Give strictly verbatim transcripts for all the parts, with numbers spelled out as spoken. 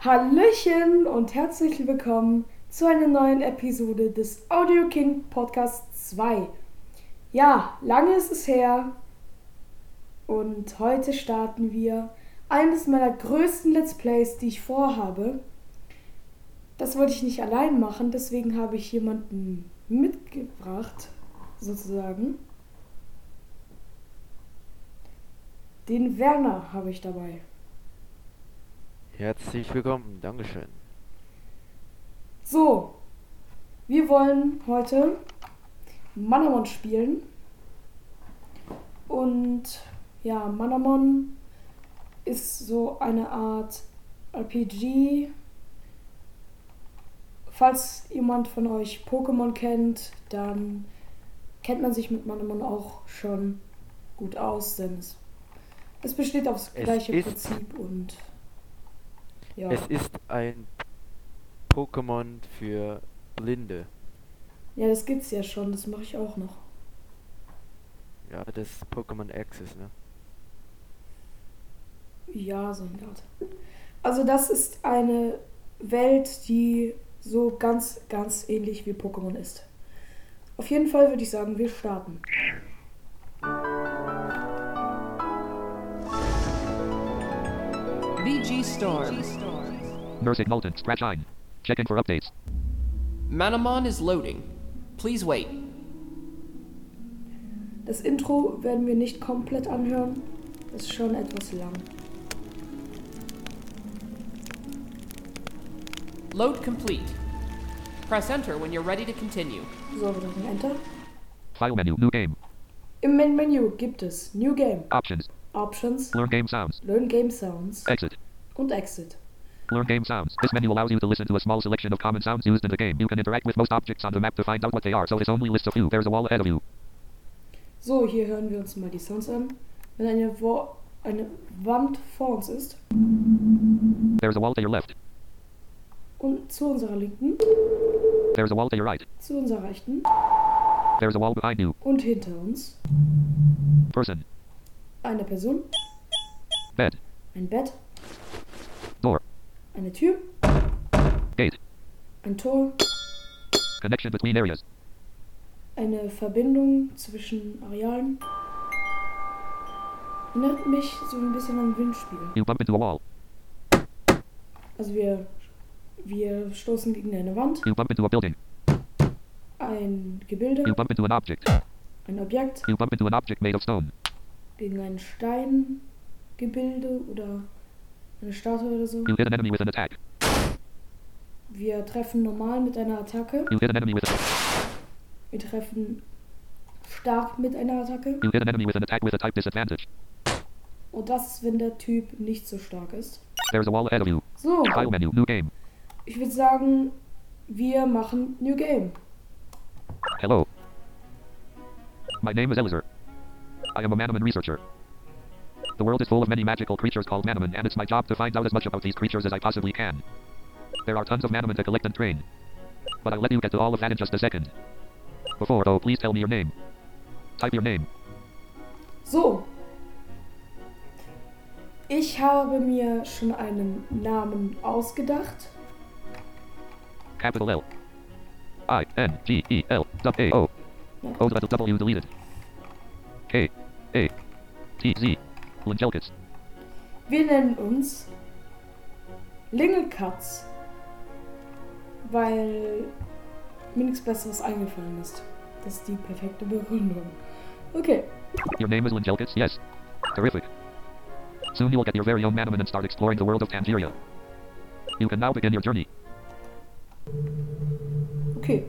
Hallöchen und herzlich willkommen zu einer neuen Episode des Audio King Podcast zwei. Ja, lange ist es her und heute starten wir eines meiner größten Let's Plays, die ich vorhabe. Das wollte ich nicht allein machen, deswegen habe ich jemanden mitgebracht, sozusagen. Den Werner habe ich dabei. Herzlich willkommen, Dankeschön. So, wir wollen heute Manamon spielen. Und ja, Manamon ist so eine Art R P G. Falls jemand von euch Pokémon kennt, dann kennt man sich mit Manamon auch schon gut aus, denn es, es besteht aufs Es gleiche ist- Prinzip und ja. Es ist ein Pokémon für Blinde. Ja, das gibt's ja schon, das mache ich auch noch. Ja, das Pokémon Access, ne? Ja, so eine Art. Also das ist eine Welt, die so ganz, ganz ähnlich wie Pokémon ist. Auf jeden Fall würde ich sagen, wir starten. V G Storm. Nursing Molten, Scratch ein. Checking for updates. Manamon is loading. Please wait. Das Intro werden wir nicht komplett anhören. Das ist schon etwas lang. Load complete. Press enter when you're ready to continue. So, wir drücken Enter. File menu, new game. Im Main-Menü gibt es New Game, Options. Options, Learn game sounds. Learn Game Sounds Exit. und Exit. Learn game sounds. This menu allows you to listen to a small selection of common sounds used in the game. You can interact with most objects on the map to find out what they are, so this only lists a few. There's a wall ahead of you. So, hier hören wir uns mal die Sounds an. Wenn eine, Wo eine Wand vor uns ist There's a wall to your left. und zu unserer Linken, There's a wall to your right. zu unserer Rechten There's a wall behind you. und hinter uns Person. eine Person, Bed. ein Bett, Door. eine Tür, Gate. ein Tor, Connection between areas. eine Verbindung zwischen Arealen. Erinnert mich so ein bisschen an Windspiel. You bump into a wall. Also wir, wir stoßen gegen eine Wand, You bump into a building. ein Gebilde, You bump into an object. ein Objekt, You bump into an object made of stone. gegen ein Steingebilde oder eine Statue oder so. You hit an enemy with an attack. Wir treffen normal mit einer Attacke. You hit an enemy with a Wir treffen stark mit einer Attacke. You hit an enemy with an attack with a type disadvantage. Und das ist, wenn der Typ nicht so stark ist. There's a wall ahead of you. So, File menu, new game. ich würde sagen, wir machen New Game. Hello. My name is Elizur. I am a Manaman researcher. The world is full of many magical creatures called Manaman, and it's my job to find out as much about these creatures as I possibly can. There are tons of Manaman to collect and train. But I'll let you get to all of that in just a second. Before, though, please tell me your name. Type your name. So. Ich habe mir schon einen Namen ausgedacht. Capital L. I N G E L W A O. O W deleted. K A T Z. Lingelkits. Wir nennen uns Lingelkatz, weil mir nichts Besseres eingefallen ist. Das ist die perfekte Begründung. Okay. Your name is Lingelkits? Yes. Terrific. Soon you'll get your very own Manaman and start exploring the world of Tangeria. You can now begin your journey. Okay.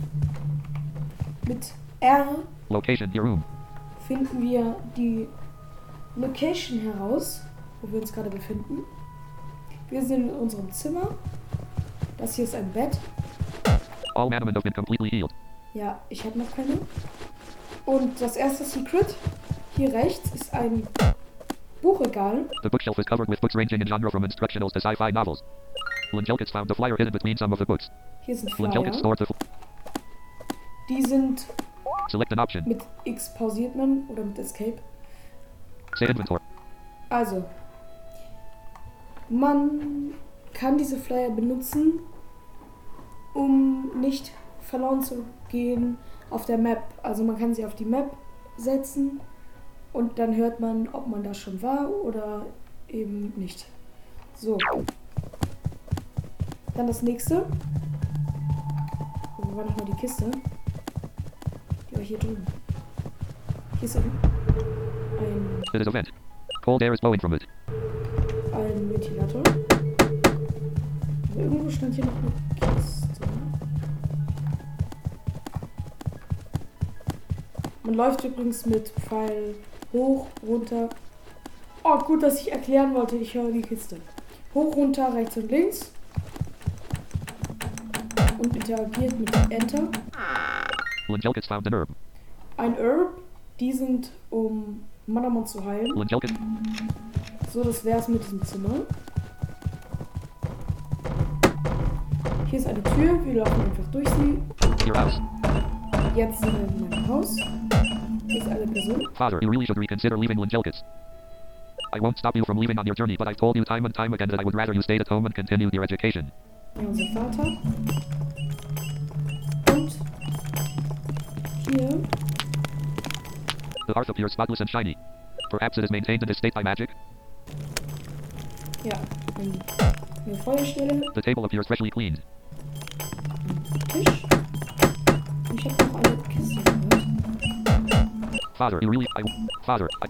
Mit R Location, your room. finden wir die Location heraus, wo wir uns gerade befinden. Wir sind in unserem Zimmer. Das hier ist ein Bett. All Manaman have been completely healed. Ja, ich habe noch keine. Und das erste Secret, hier rechts, ist ein Buchregal. The bookshelf is covered with books ranging in genre from instructionals to sci-fi novels. Lingelkits found the flyer hidden between some of the books. Hier sind Lingelkits Flyer. stored the... F- Die sind Select an option. mit X pausiert man oder mit Escape. Say inventory. Also, man kann diese Flyer benutzen, um nicht verloren zu gehen auf der Map. Also man kann sie auf die Map setzen und dann hört man, ob man da schon war oder eben nicht. So. Dann das nächste. Wo war nochmal die Kiste? Die war hier drüben. Hier ist ein, ein, It is a vent. Cold air is blowing from it. ein Ventilator. Aber irgendwo stand hier noch eine Kiste. Man läuft übrigens mit Pfeil hoch, runter. Oh, gut, dass ich erklären wollte. Ich höre die Kiste. Hoch, runter, rechts und links. Und interagiert mit Enter. Lingelkits found an herb. Ein Herb. Die sind, um Manamon zu heilen. Lingelkit. So, das wär's mit diesem Zimmer. Hier ist eine Tür. Wir laufen einfach durch sie. Your house. Jetzt sind wir in meinem Haus. Hier ist eine Person. Father, you really should reconsider leaving Lingelkits. I won't stop you from leaving on your journey, but I've told you time and time again that I would rather you stayed at home and continued your education. Ja, unser Vater. Und hier. The hearth appears spotless and shiny. Perhaps it is maintained in this state by magic? Ja, ein- eine Feuerstelle. The table appears freshly cleaned. Tisch. Und ich habe noch eine Kiste gehört. Father, you really... I... Father, I...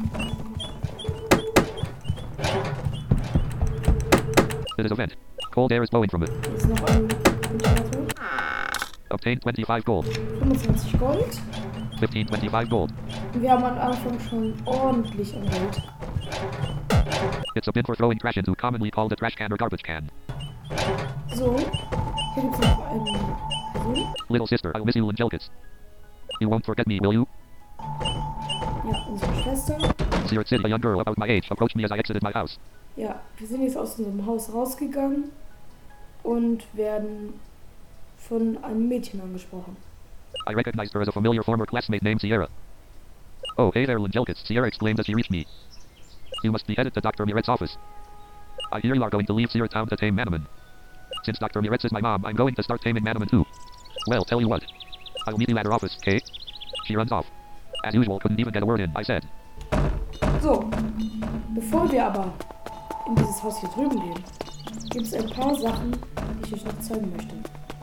It is a vent. Cold air is blowing from it. Hier ist noch ein Ventilator. Obtained twenty-five gold. fünfundzwanzig Gold. fifteen twenty-five gold. Und wir haben am Anfang schon ordentlich an Geld. It's a bin for throwing trash into, commonly called a trash can or garbage can. So, hier gibt es noch eine Person. Little sister, I'll miss you, Lingelkits. You won't forget me, will you? Ja, unsere Schwester. Seared City, a young girl about my age, approached me as I exited my house. Ja, wir sind jetzt aus unserem Haus rausgegangen und werden von einem Mädchen angesprochen. I recognized her as a familiar former classmate named Sierra. Oh, hey there, Lingelkits, Sierra exclaimed as she reached me. You must be headed to Doctor Miret's office. I hear you are going to leave Seer Town to tame Manaman. Since Doctor Miret's is my mom, I'm going to start taming Manaman too. Well, tell you what. I'll meet you at her office, okay? She runs off. As usual, couldn't even get a word in, I said. So, bevor wir aber in dieses Haus hier drüben gehen, gibt es ein paar Sachen, die ich euch noch zeigen möchte.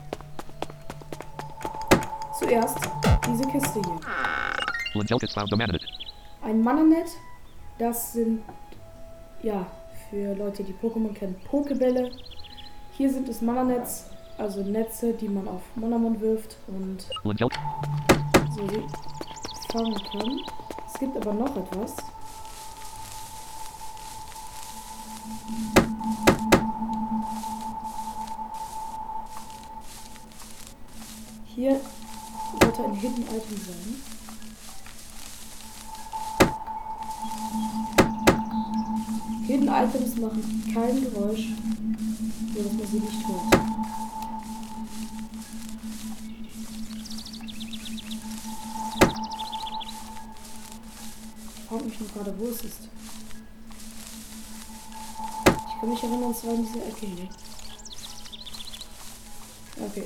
Zuerst diese Kiste hier. Lingelkits found the Mananet. Ein Mananet, das sind, ja, für Leute, die Pokémon kennen, Pokebälle. Hier sind es Mananets, also Netze, die man auf Manamon wirft und Lingel- so fangen kann. Es gibt aber noch etwas. Hier sollte ein Hidden Item sein. Hidden Items machen kein Geräusch, sodass man sie nicht hört. Ich frage mich nur gerade, wo es ist. Ich kann mich erinnern, es war in dieser Ecke hier. Okay.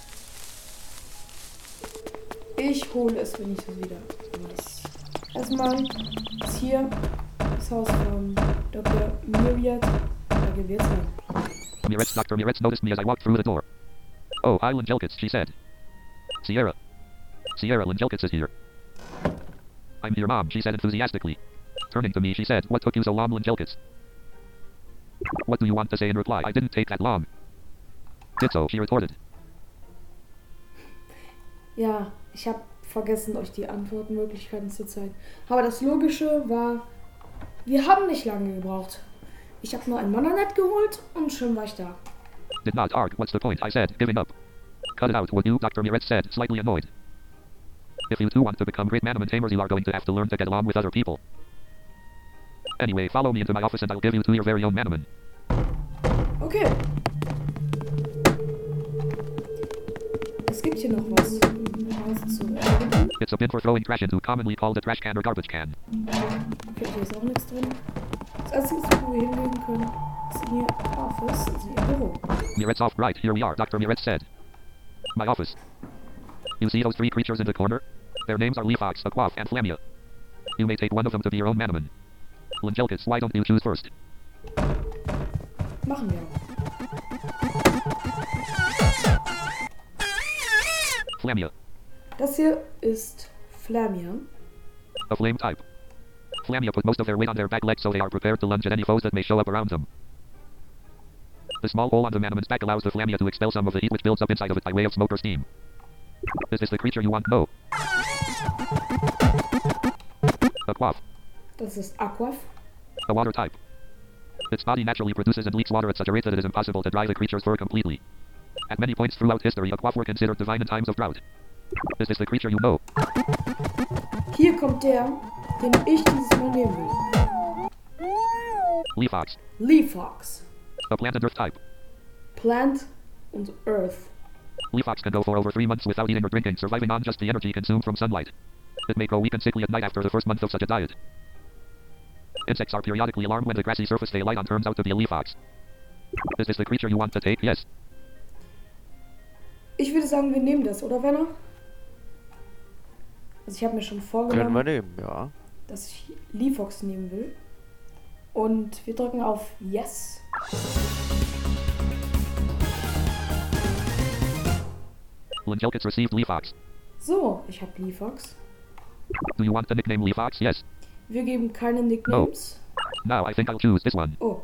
Ich hole es, wenn ich es wieder weiß. Erstmal ist hier das Haus von Doktor Myriad. Da gehen wir jetzt rein. Miret's Doctor Miret's noticed me as I walked through the door. Oh, hi Lingelkits, she said. Sierra. Sierra, Lingelkits is here. I'm here, Mom, she said enthusiastically. Turning to me, she said, what took you so long, Lingelkits? What do you want to say in reply? I didn't take that long. Did so, she retorted. Ja, ich habe vergessen, euch die Antwortmöglichkeiten zu zeigen. Aber das Logische war, wir haben nicht lange gebraucht. Ich habe nur ein Mananet geholt und schon war ich da. Did not arg, what's the point? I said, giving up. Cut it out, would you? Doctor Miret said, slightly annoyed. If you two want to become great Manaman tamers, you are going to have to learn to get along with other people. Anyway, follow me into my office and I'll give you to your very own Manaman. Okay. Es gibt hier noch was. Was zu erledigen. It's a bin for throwing trash into, commonly called a trash can or garbage can. Okay, hier ist auch nichts drin. Das Einzige, wo wir hingehen können, Das ist ihr Office, das ist ihr Büro. Miret's off right. Here we are, Doctor Miret said. My office. You see those three creatures in the corner? Their names are Leafox, Aquaf, and Flamia. You may take one of them to be your own Manaman. Langelkis, why don't you choose first? Machen wir. Flamia. Das hier ist Flamia. A flame type. Flamia put most of their weight on their back legs so they are prepared to lunge at any foes that may show up around them. The small hole on the Manaman's back allows the Flamia to expel some of the heat which builds up inside of it by way of smoke or steam. Is this the creature you want? No. Aquaf. Das ist Aquaf. A water type. Its body naturally produces and leaks water at such a rate that it is impossible to dry the creature's fur completely. At many points throughout history, Aquaf were considered divine in times of drought. Is this the creature you know? Hier kommt der, den ich dieses Mal nehmen will. Leafox. Leafox. A plant and earth type. Plant und Earth. Leafox can go for over three months without eating or drinking, surviving on just the energy consumed from sunlight. It may go weak and sickly at night after the first month of such a diet. Insects are periodically alarmed when the grassy surface they light on turns out to be a leafox. Is this the creature you want to take? Yes. Ich würde sagen, wir nehmen das, oder Werner? Also ich habe mir schon Können wir vorgenommen, nehmen, ja. dass ich Leafox nehmen will. Und wir drücken auf Yes. Langelkis received Leafox. So, ich habe Leafox. Do you want the nickname Leafox? Yes. Wir geben keine Nicknames. Now I think I'll choose this one. Oh.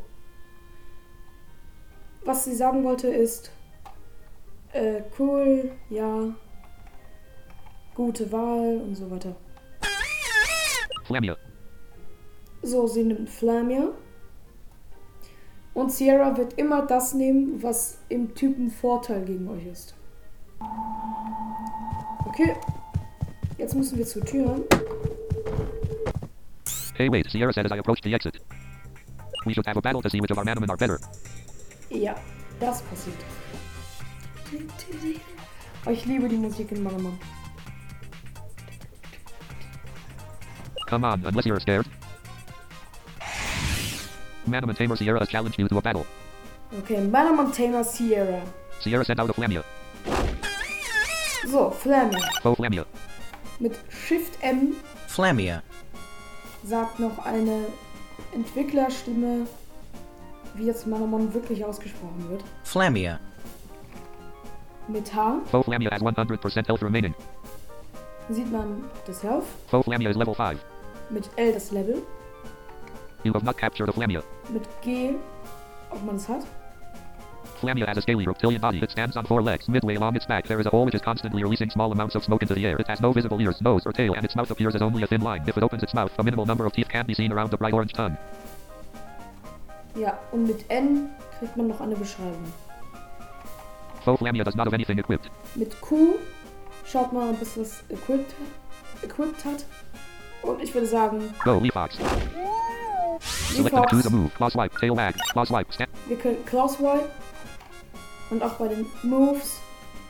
Was sie sagen wollte ist, äh, cool, ja, gute Wahl und so weiter. Flamia. So, sie nimmt Flamia. Und Sierra wird immer das nehmen, was im Typen Vorteil gegen euch ist. Okay. Jetzt müssen wir zur Tür. Hey wait, Sierra said as I approached the exit. We should have a battle to see which of our Manaman are better. Ja, das passiert. Oh, ich liebe die Musik in Manaman. Come on, unless you're scared. Manaman Tamer Sierra has challenged you to a battle. Okay, Manaman Tamer Sierra. Sierra sent out a Flamia. So, Flamia. Faux Flamia. Mit Shift M Flamia. sagt noch eine Entwicklerstimme, wie jetzt Manaman wirklich ausgesprochen wird. Flamia. Mit H Faux Flamia has one hundred percent health remaining. sieht man das Health. Faux Flamia is level five. Mit L das Level. You have not captured a Flamia. Mit G, ob man es hat. Flamia has a scaly reptilian body. It stands on four legs. Midway along its back there is a hole which is constantly releasing small amounts of smoke into the air. It has no visible ears, nose, or tail, and its mouth appears as only a thin line. If it opens its mouth, a minimal number of teeth can be seen around the bright orange tongue. Ja, und mit N kriegt man noch eine Beschreibung. Faux Flamia does not have anything equipped. Mit Q schaut man, ob es was equipped, equipped hat. Und ich würde sagen, Go, Leafox. Select and choose a move. Claw swipe, tail wag, claw swipe, stand. wir können Claw Swipe. Und auch bei den Moves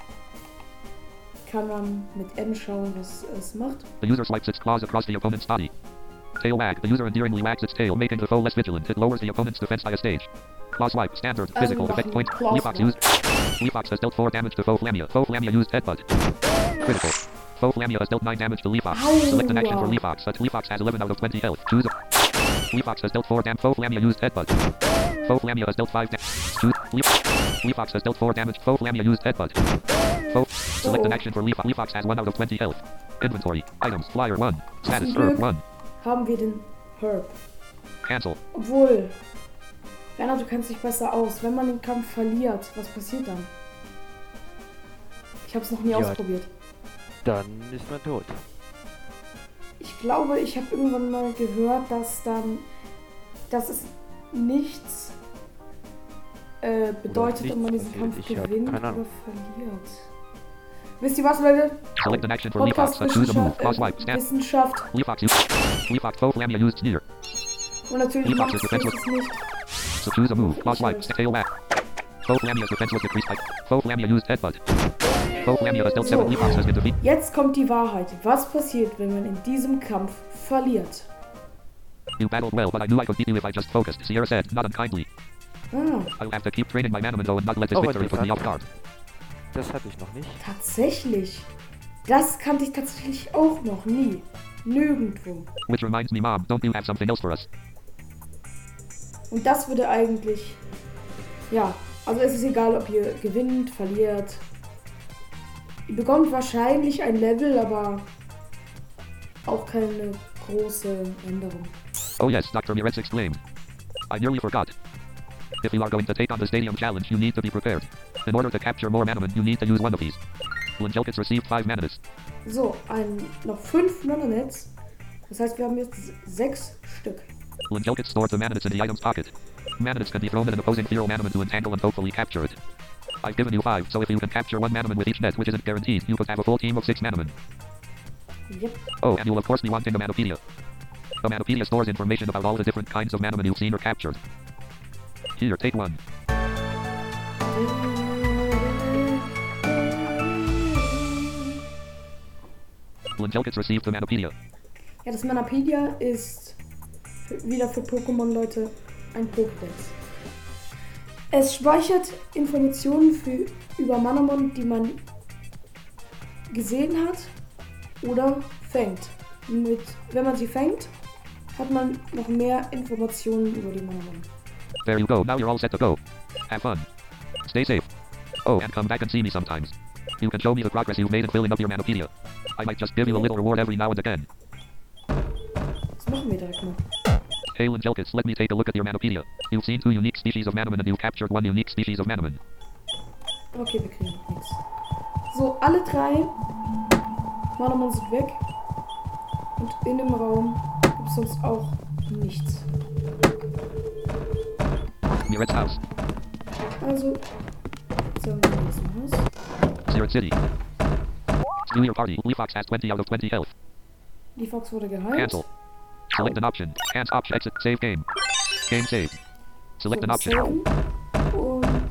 kann man mit N schauen, was es macht. The user swipes its claws across the opponent's body. Tail wag. The user endearingly wags its tail, making the foe less vigilant. It lowers the opponent's defense by a stage. Claw swipe. Standard. Also Physical. machen Effect point. Claw Leafox Swipe. used. Leafox has dealt four damage to Faux Flamia. Faux Flamia used Headbutt. Critical. Faux Flamia has dealt nine damage to Leafox. Ow. Select an action for Leafox. But Leafox has eleven out of twenty health. Choose a... Leafox has dealt four damage. Faux Flamia used Headbutt. Faux Flamia has dealt five damage. Choose... Leaf- Leafox has dealt four damage. Faux Flamia used Headbutt. Faux... Select an action for Leafox. Leafox has one out of twenty health. Inventory. Items. Flyer one. Status. Zum Herb Glück one. haben wir den Herb. Cancel. Obwohl, Werner, du kennst dich besser aus. Wenn man den Kampf verliert, was passiert dann? Ich habe es noch nie Ja. ausprobiert. Dann ist man tot. Ich glaube, ich habe irgendwann mal gehört, dass dann, dass es nichts äh, bedeutet, nichts ob man diesen passiert. Kampf Ich hab gewinnt keine oder Ahnung. verliert. Wisst ihr was, Leute? Select an action for Leafox. Podcast Uh, choose a move. Wissenschaft, Claw äh, swipe. Stand. Wissenschaft. Leafox used. Leafox. Faux Flamia used Sneer. Und natürlich Leafox macht is es defenseless. es nicht. So choose a move. Claw swipe. St- Tail wag. Faux Flamia's defense was decreased by... Faux Flamia used Headbutt. Faux Flamia has dealt seven. So. Leafox has been defeated. Jetzt kommt die Wahrheit. Was passiert, wenn man in diesem Kampf verliert? You battled well, but I knew I could beat you if I just focused. Sierra said, not unkindly. Ah, I'll have to keep training my Manaman though and not let this Oh, victory put me off interessant. guard. Das hatte ich noch nicht. tatsächlich. Das kannte ich tatsächlich auch noch nie. Nirgendwo. Which reminds me, Mom, don't you have something else for us? Und das würde eigentlich... Ja, also es ist egal, ob ihr gewinnt, verliert. Ihr bekommt wahrscheinlich ein Level, aber auch keine große Änderung. Oh yes, Doctor Miretz exclaimed. I nearly forgot. If you are going to take on the Stadium Challenge, you need to be prepared. In order to capture more Manaman, you need to use one of these. Linjelkits received five Mananets. So, ein, noch fünf Mananets. Das heißt, wir haben jetzt sechs Stück. Linjelkits stored the Mananets in the item's pocket. Mananets can be thrown at an opposing feral Manaman to entangle and hopefully capture it. I've given you five, so if you can capture one Manaman with each net, which isn't guaranteed, you could have a full team of six Manaman. Yep. Oh, and you'll of course be wanting the Manopedia. The Manopedia stores information about all the different kinds of Manaman you've seen or captured. Here, take one. Linjelkits received the Manopedia. Ja, das Manapedia ist für, wieder für Pokémon-Leute ein Pokédex. Es speichert Informationen für, über Manamon, die man gesehen hat oder fängt. Mit, wenn man sie fängt, hat man noch mehr Informationen über die Manamon. There you go, now you're all set to go. Have fun. Stay safe. Oh, and come back and see me sometimes. You can show me the progress you've made in filling up your Manopedia. I might just give you a little reward every now and again. Das machen wir direkt mal. Hey Linjelkits, let me take a look at your Manopedia. You've seen two unique species of Manaman and you've captured one unique species of Manaman. Okay, wir kriegen noch nichts. So, alle drei Manamon sind weg. Und in dem Raum gibt es sonst auch nichts. Miret's house. Also, jetzt haben wir das Haus. Sirat City. Do your party. Leafox has twenty out of twenty health. Die Fox wurde geheilt. Cancel. Select an option. Hands option. Exit. Save game. Game saved. Select an So, option. saven. Und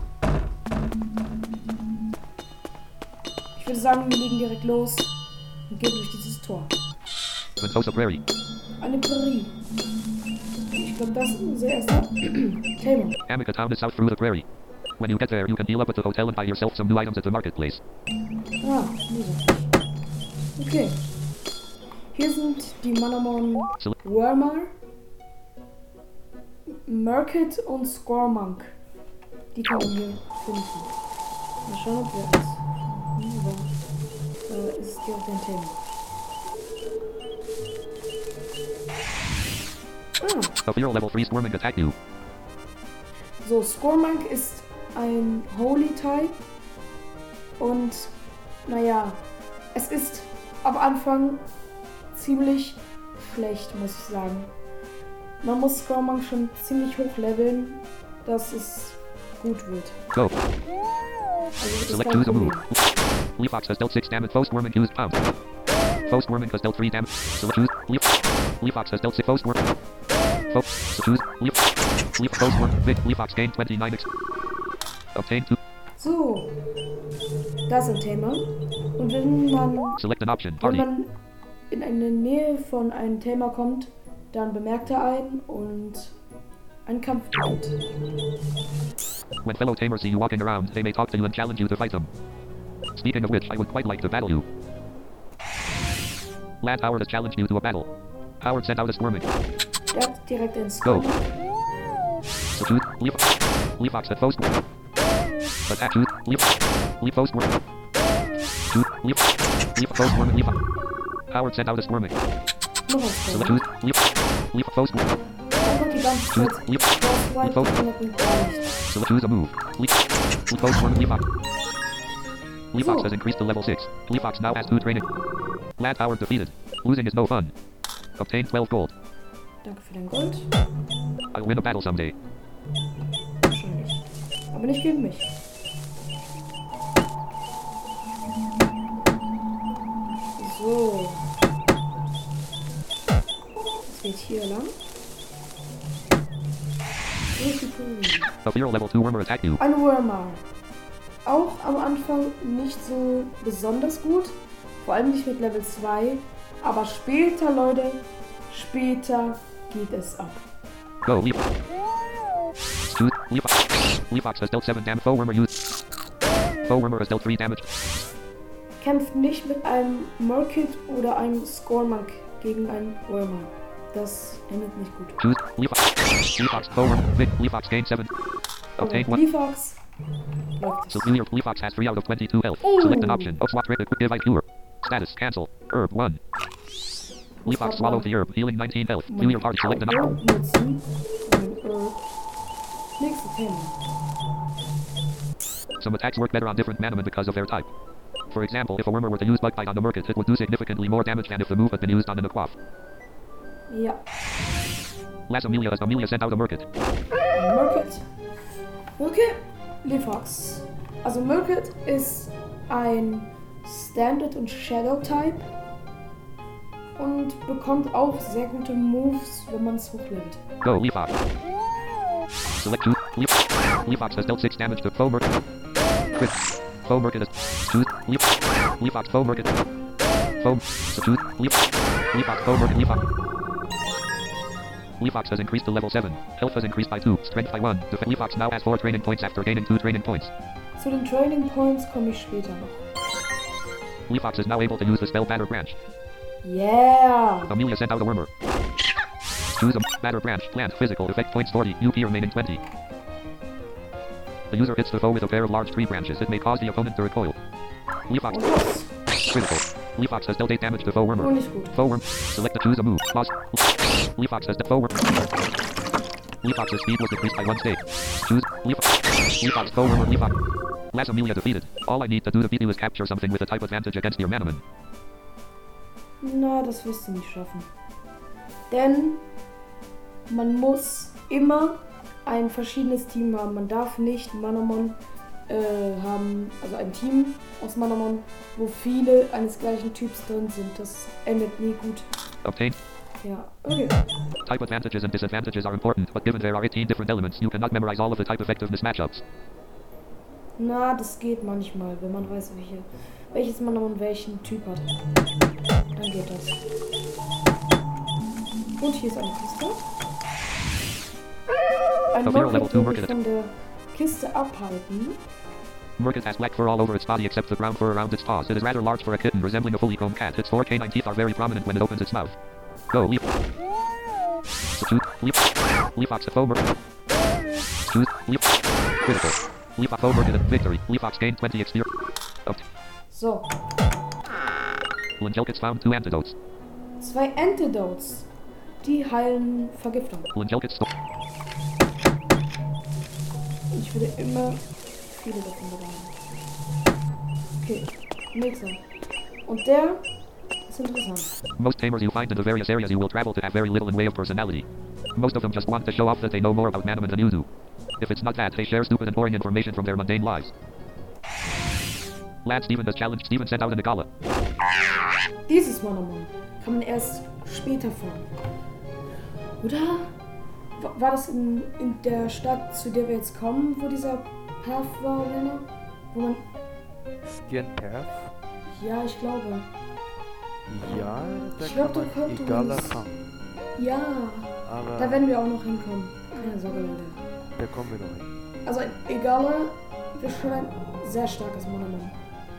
ich würde sagen, wir legen direkt los und gehen durch dieses Tor. Ventosa Prairie. Eine Prärie. Ich glaube, das ist unser erster Thema. Amica town is south through the prairie. When you get there, you can heal up at the hotel and buy yourself some new items at the marketplace. Ah, nee, okay. Hier sind die Manamon Select. Wormar, Murkit und Scormonk. Die kann man hier finden. Mal schauen, ob wir es. Hm, da äh, ist direkt ein Thema. Ah, A feral level three Swarming attack you. so, Scormonk ist ein Holy-Type. Und, naja, es ist am Anfang ziemlich schlecht, muss ich sagen. Man muss Scormonk schon ziemlich hoch leveln, dass es gut wird. Go. Also das ist Select kein choose a move. Problem. Leafox has dealt six damage. Foe Swarming used pound. Foe Swarming has dealt three damage. Select choose. Leaf. Leafox has dealt six. Foe Swarming. Foe. So choose. Leaf. Leaf. Foe Swarming. Vic. Leafox gained twenty-nine X. Obtain two. So, das ist ein Thema. Und wenn man, Select an option. wenn Party. man in eine Nähe von einem Thema kommt, dann bemerkt er einen und ein Kampf beginnt. When fellow tamers see you walking around, they may talk to you and challenge you to fight them. Speaking of which, I would quite like to battle you. Lad Howard has challenged you to a battle. Howard sent out a Swarming. Der hat direkt einen Go. Scormonk. So choose. Leaf. Leafox at Foe Swarming. Attack choose. Leaf. Leaf Foe Swarming. Choose. Leaf. Leaf Foe Swarming. Leaf. Howard sent out a Swarming. Noch ein Select Scormonk. choose. Leaf. Leaf Foe Swarming. Einfach die ganze Choose. Zeit. Leaf. Das war Leaf Foe. noch nicht gar nicht. Select choose a move. Leaf. Leaf Foe Swarming. Leafox. Leafox So. has increased to level six. Leafox now has two training. Lad Howard defeated. Losing is no fun. Obtain twelve gold. Danke für dein Gold. I'll win a battle someday. Wahrscheinlich. Aber nicht gegen mich. So. Es geht hier lang. Durch die Prärie. A feral level two Wormer attack you. Ein Wormar. Auch am Anfang nicht so besonders gut. Vor allem nicht mit Level zwei. Aber später, Leute, später geht es ab. Go, Leaf. Choose Leafox. Leafox has dealt seven damage. Foe Wormer used. Foe Wormer has dealt three damage. Kämpft nicht mit einem Murkit oder einem Scormonk gegen einen Wormer. Das endet nicht gut. Choose Leafox. Leafox. Foe Wormer. Vic. Leafox gained seven. Obtain one. Leafox. Läuft es. So clear. Leafox has three out of twenty-two health. Oh. Select an option. Oh, swap rate. Quick give I cure. Status. Cancel. Herb one. Leafox swallowed the herb. Healing nineteen health. Do your party. Select an option. Herb nutzen. Ein Herb. Nächste Thema. Some attacks work better on different Manaman because of their type. For example, if a Wormer were to use Bug Bite on the Murkit, it would do significantly more damage than if the move had been used on an Aquaf. Ja. Last Amelia as Amelia sent out a Murkit. Murkit. Okay. Leafox. Also Murkit ist ein Standard- und Shadow-Type und bekommt auch sehr gute Moves, wenn man es hochlevelt. Go, Leafox. Select two. Leaf. Leafox has dealt six damage to Foe Murkit. Crit. Foe Murkit is. Choose. Leaf. Leafox. Foe Murkit. Foe. So choose. Leaf. Leafox. Foe Murkit. Leafox. Leafox has increased to level seven. Health has increased by two. Strength by one. Def- Leafox now has four training points after gaining two training points. Zu den Training Points komme ich später noch. Leafox is now able to use the spell Batter Branch. Yeah! Amelia sent out a Wormer. Choose a Batter Branch. Plant. Physical. Effect points forty. U P remaining twenty. The user hits the foe with a pair of large tree branches. It may cause the opponent to recoil. Leafox. Und los! Critical. Leafox has dealt eight damage to Foe Wormer. Oh, nicht gut. Foe Worm. Select to choose a move. Pause. Leafox has dealt Foe Wormer. Leafox's speed was decreased by one stage. Choose. Leafox. Leafox. Foe Wormer. Leafox. Last Amelia defeated. All I need to do to beat you is capture something with a type advantage against your Manaman. Na, das wirst du nicht schaffen. Denn man muss immer ein verschiedenes Team haben. Man darf nicht Manamon äh, haben, also ein Team aus Manamon, wo viele eines gleichen Typs drin sind. Das endet nie gut. Obtain. Ja, okay. Type advantages and disadvantages are important, but given there are eighteen different elements, you cannot memorize all of the type effectiveness matchups. Na, das geht manchmal, wenn man weiß, welche, welches Manamon welchen Typ hat. Dann geht das. Und hier ist eine Kiste. Ein A zero level Murkit two will mich Murkit. von der Kiste abhalten. Murkit has black fur all over its body except the brown fur around its paws. It is rather large for a kitten, resembling a fully combed cat. Its four canine teeth are very prominent when it opens its mouth. Go, Leaf. So choose, Leaf. Leafox, Foe Murkit. Choose, Leaf. Critical. Leafox, Foe Murkit, victory. Leafox gained twenty X P. Up. So, Lingelkits found two antidotes. zwei Antidotes. Die heilen Vergiftung. Lingelkits sto- Ich würde immer viele davon bekommen. Okay, nächster. Und der ist interessant. Most tamers you find in the various areas you will travel to have very little in way of personality. Most of them just want to show off that they know more about Manaman than you do. If it's not that, they share stupid and boring information from their mundane lives. Lad Steven has challenged Steven sent out an Igala. Dieses Manamon kann man erst später fangen. Oder? Wa- War das in, in der Stadt, zu der wir jetzt kommen, wo dieser Path war, Lena? Wo man. Stian Perth? Ja, ich glaube. Ja, da Ich glaub, kann du man könntest- egaler fangen. Ja, Aber da werden wir auch noch hinkommen. Keine Sorge, Leute. da kommen wir noch hin. Also, Egala ist schon ein sehr starkes Manamon.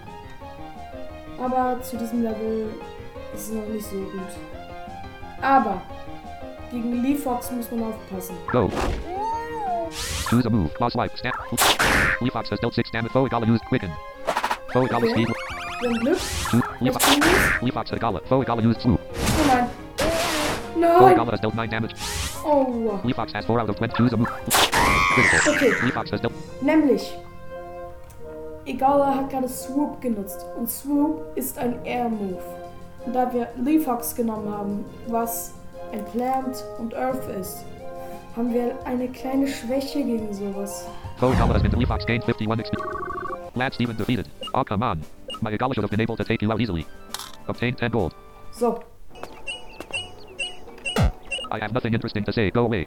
Aber zu diesem Level ist es noch nicht so gut. Aber gegen Leafox muss man aufpassen. Go. Choose a move. Claw swipe. Snap. Leafox has dealt six damage. Foe Igala used quicken. Foe Igala Okay. speed. Wir haben Glück. Choose. Was Leafox. tun wir? Leafox Igala. Foe Igala used swoop. Oh nein. Foe Nein. Igala has dealt nine damage. Oh. Leafox has four out of twenty. Choose a move. Critical. Okay. Leafox has dealt. Nämlich, Egala hat gerade Swoop genutzt. Und Swoop ist ein Air-Move. Und da wir Leafox genommen haben, was ein Plant und Earth ist, haben wir eine kleine Schwäche gegen sowas. Foe Igala has been Leafox gained fifty-one X P. Lad Steven defeated. Oh, come on. My Igala should have been able to take you out easily. Obtained ten gold. So, I have nothing interesting to say. Go away.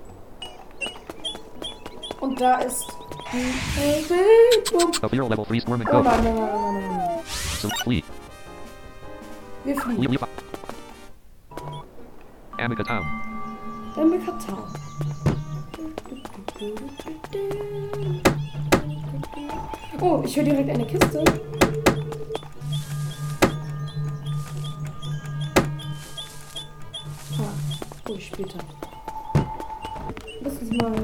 und da ist die Verwebung. A zero level three Squirm and Oh go. nein, nein, nein, nein, nein, nein. So flee. Wir Le- fliegen. Leafox. Amica Town. Dann mit Katar. Oh, ich höre direkt eine Kiste. Ah, oh, später. Lass uns mal.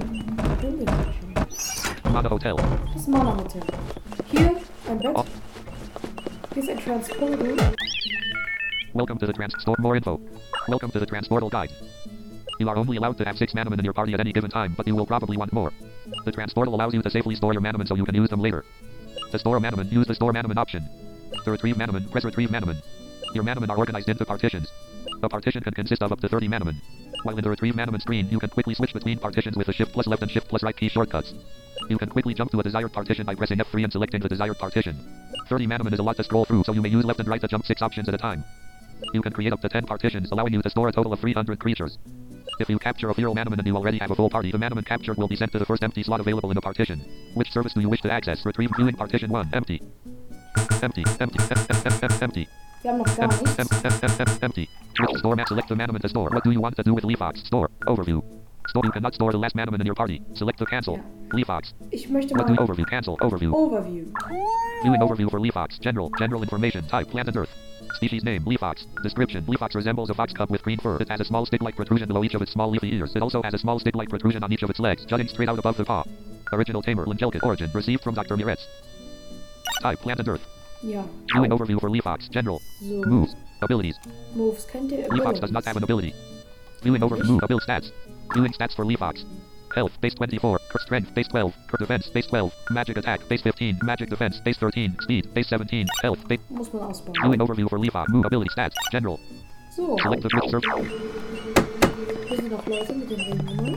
Mana Hotel. Das Mana Hotel. Hier ein Bett. Oh. Hier ist ein Transporter. Welcome to the transport. More info. Welcome to the transportal guide. You are only allowed to have six manaman in your party at any given time, but you will probably want more. The transportal allows you to safely store your manaman so you can use them later. To store a manaman, use the store manaman option. To retrieve manaman, press retrieve manaman. Your manaman are organized into partitions. A partition can consist of up to thirty manaman. While in the retrieve manaman screen, you can quickly switch between partitions with the shift plus left and shift plus right key shortcuts. You can quickly jump to a desired partition by pressing F three and selecting the desired partition. thirty manaman is a lot to scroll through, so you may use left and right to jump six options at a time. You can create up to ten partitions, allowing you to store a total of three hundred creatures. If you capture a feral manaman and you already have a full party, the manaman captured will be sent to the first empty slot available in the partition. Which service do you wish to access? Retrieve viewing partition one. Empty. Empty. Empty. Empty. Wir haben noch gar nichts. Empty. Switch store map. Select the manaman to store. What do you want to do with Leafox? Store. Overview. Store. You cannot store the last manaman in your party. Select the cancel. Ja. Leafox. Ich möchte What do mal overview? Cancel. Overview. Overview. Viewing overview for Leafox. General. General information. Type. Plant and earth. Species name, Leafox. Description, Leafox resembles a fox cub with green fur. It has a small stick-like protrusion below each of its small leafy ears. It also has a small stick-like protrusion on each of its legs, jutting straight out above the paw. Original tamer, Lingelkit. Origin, received from Doctor Miretz. Type, plant and earth. Ja. Viewing overview for Leafox. General. So. Moves. Abilities. Moves kennt ihr? Leafox does not have an ability. Viewing overview. Move. Ability stats. Viewing stats for Leafox. Health, base twenty-four. Strength, base twelve. Defense, base twelve. Magic attack, base fifteen. Magic defense, base thirteen. Speed, base seventeen. Health, base... Muss man ausbauen. Viewing overview for Leafox. Move. Ability stats. General. So. Select the switch server. Hier sind noch Leute mit den Ringnummern.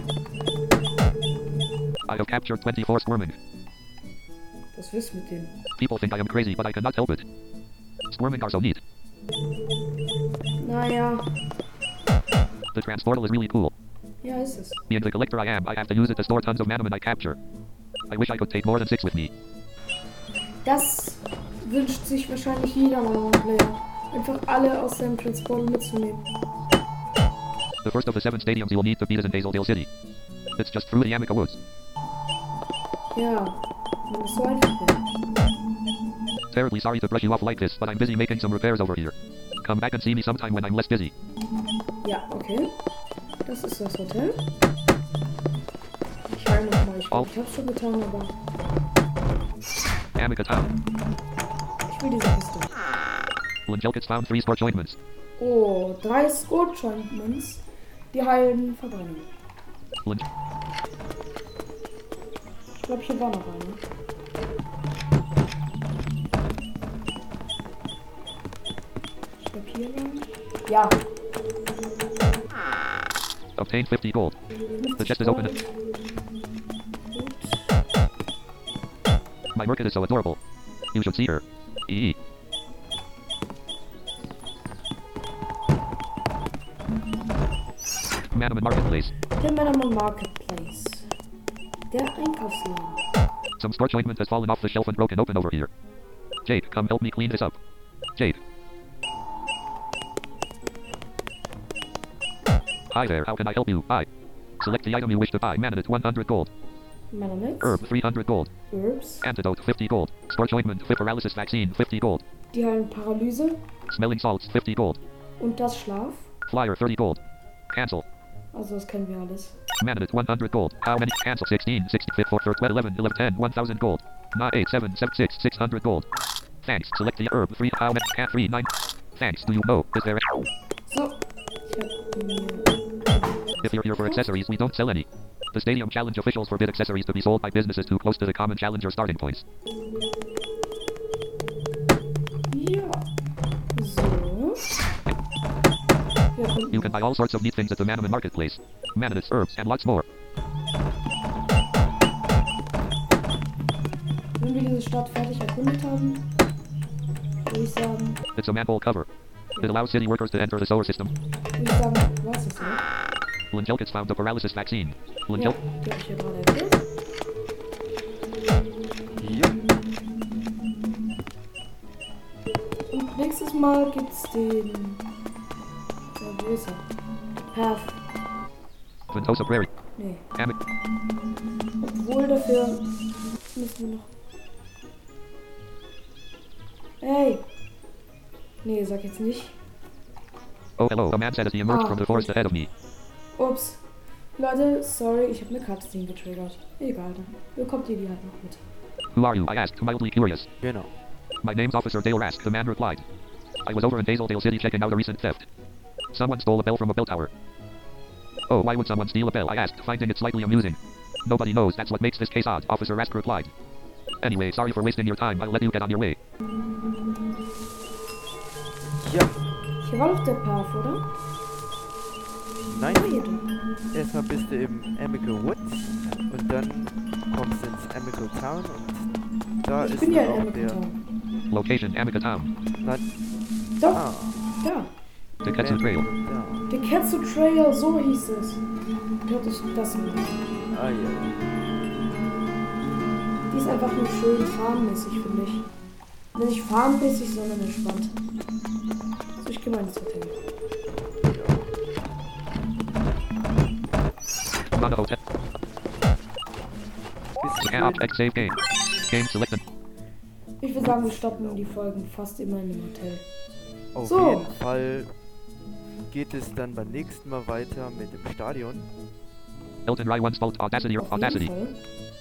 I have captured twenty-four squirming. Was willst du mit denen? People think I am crazy, but I cannot help it. Squirming are so neat. Naja. The transportal is really cool. Ja, ist es. Being the collector I am, I have to use it to store tons of manaman I capture. I wish I could take more than six with me. Das wünscht sich wahrscheinlich jeder Player. Einfach alle aus seinem Transporter mitzunehmen. The first of the seven stadiums you will need to beat is in Hazeldale City. It's just through the Yamika Woods. Ja, wenn es so einfach wäre. Terribly sorry to brush you off like this, but I'm busy making some repairs over here. Come back and see me sometime when I'm less busy. Ja, okay. Das ist das Hotel. Ich heile nochmal. Ich glaube, ich hab's schon getan, aber Yamika Town. ich will diese Kiste. Lingelkits found three scorch ointments. Oh, drei Scorch-Ointments. Die heilen Verbrennung. Lin- Ich glaube, hier war noch eine. Ich glaube, hier lang. Ja. Obtain fifty gold. The chest is open. Gut. My Merkit is so adorable. You should see her. Eee. Manaman Marketplace. Der Manaman Marketplace. Der Einkaufsladen. Some scorch ointment has fallen off the shelf and broken open over here. Jade, come help me clean this up. Jade. Hi there, how can I help you? I. Select the item you wish to buy. Mananit, one hundred gold. Mananit. Herb, three hundred gold. Herbs. Antidote, fifty gold. Scorch ointment, fit paralysis vaccine, fifty gold. Die heilen Paralyse. Smelling salts, fifty gold. Und das Schlaf. Flyer, thirty gold. Cancel. Also das kennen wir alles. Mananit, one hundred gold. How many? Cancel, sixteen, sixty, four, twelve, eleven, eleven, ten, one thousand gold. nine, eight, seven, seven, six, six hundred gold. Thanks. Select the herb, three, how many? Cat, three, nine. Thanks. Do you know? Is there a... So. Ich hab mir... If you're here for accessories, we don't sell any. The Stadium Challenge officials forbid accessories to be sold by businesses too close to the common challenger starting points. Ja. So. Ja, You can buy all sorts of neat things at the Manaman Marketplace. Mananits, herbs, and lots more. wenn wir diese Stadt fertig erkundet haben, würde ich sagen, It's a manhole cover. It allows city workers to enter the solar system. würde ich sagen, was ist das? Lingelkits found the paralysis vaccine. Ja, Lingel... die habe ich ja gerade erzählt. Ja. Und nächstes Mal gibt's den... Ja, wo ist er? Path. Ventosa Prairie. Nee. Am- Obwohl dafür müssen wir noch. Hey! Nee, sag jetzt nicht. Oh, hello. A man said as he emerged Ah. from the forest ahead of me. Ups. Leute, sorry, ich habe eine Cutscene getriggert. Egal, dann bekommt ihr die halt noch mit. Who are you? I asked, mildly curious. Genau. My name's Officer Dale Rask, the man replied. I was over in Hazeldale City checking out a recent theft. Someone stole a bell from a bell tower. Oh, why would someone steal a bell? I asked, finding it slightly amusing. Nobody knows, that's what makes this case odd, Officer Rask replied. Anyway, sorry for wasting your time, I'll let you get on your way. Ja, Hier war doch der Path, oder? nein. Ah, hier doch. Erstmal bist du im Amical Woods und dann kommst du ins Amical Town und da Ich ist bin ja dann in auch der... Amical. Location, Amica Town. Nein, Doch, ah, da. The Ketsu Trail. Da. Der Ketsu Trail, so hieß es. Hört euch das mal an. Ah ja. Die ist einfach nur schön farbenmäßig, finde ich. Nicht farbenmäßig, sondern entspannt. So, ich gehe mal ins Hotel. Mana Hotel. Bist Scan Object Save Game. Game selected. Ich würde sagen, wir stoppen die Folgen fast immer in dem Hotel. Auf So. jeden Fall geht es dann beim nächsten Mal weiter mit dem Stadion. Elton Rai once spoke Audacity or Auf jeden Audacity. Fall.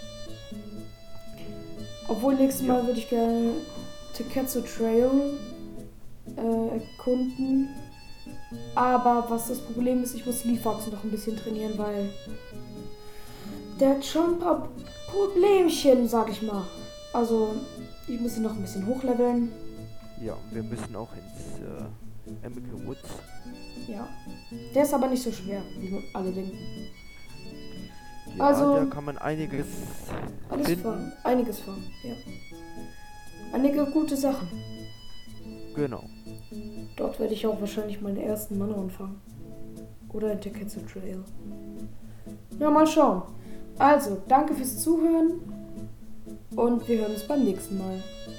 Obwohl, nächstes Mal würde ich gerne Teketsu Trail äh, erkunden. Aber was das Problem ist, ich muss Leafox noch ein bisschen trainieren, weil der hat schon ein paar Problemchen, sag ich mal. Also, ich muss ihn noch ein bisschen hochleveln. Ja, wir müssen auch ins äh, Amical Woods. Ja. Der ist aber nicht so schwer, wie alle denken. Ja, Also- da kann man einiges Alles finden. fahren. Einiges fahren, ja. Einige gute Sachen. Genau. Dort werde ich auch wahrscheinlich meinen ersten Mann anfangen. Oder in Teketsu Trail. Na, mal schauen. Also, danke fürs Zuhören. Und wir hören uns beim nächsten Mal.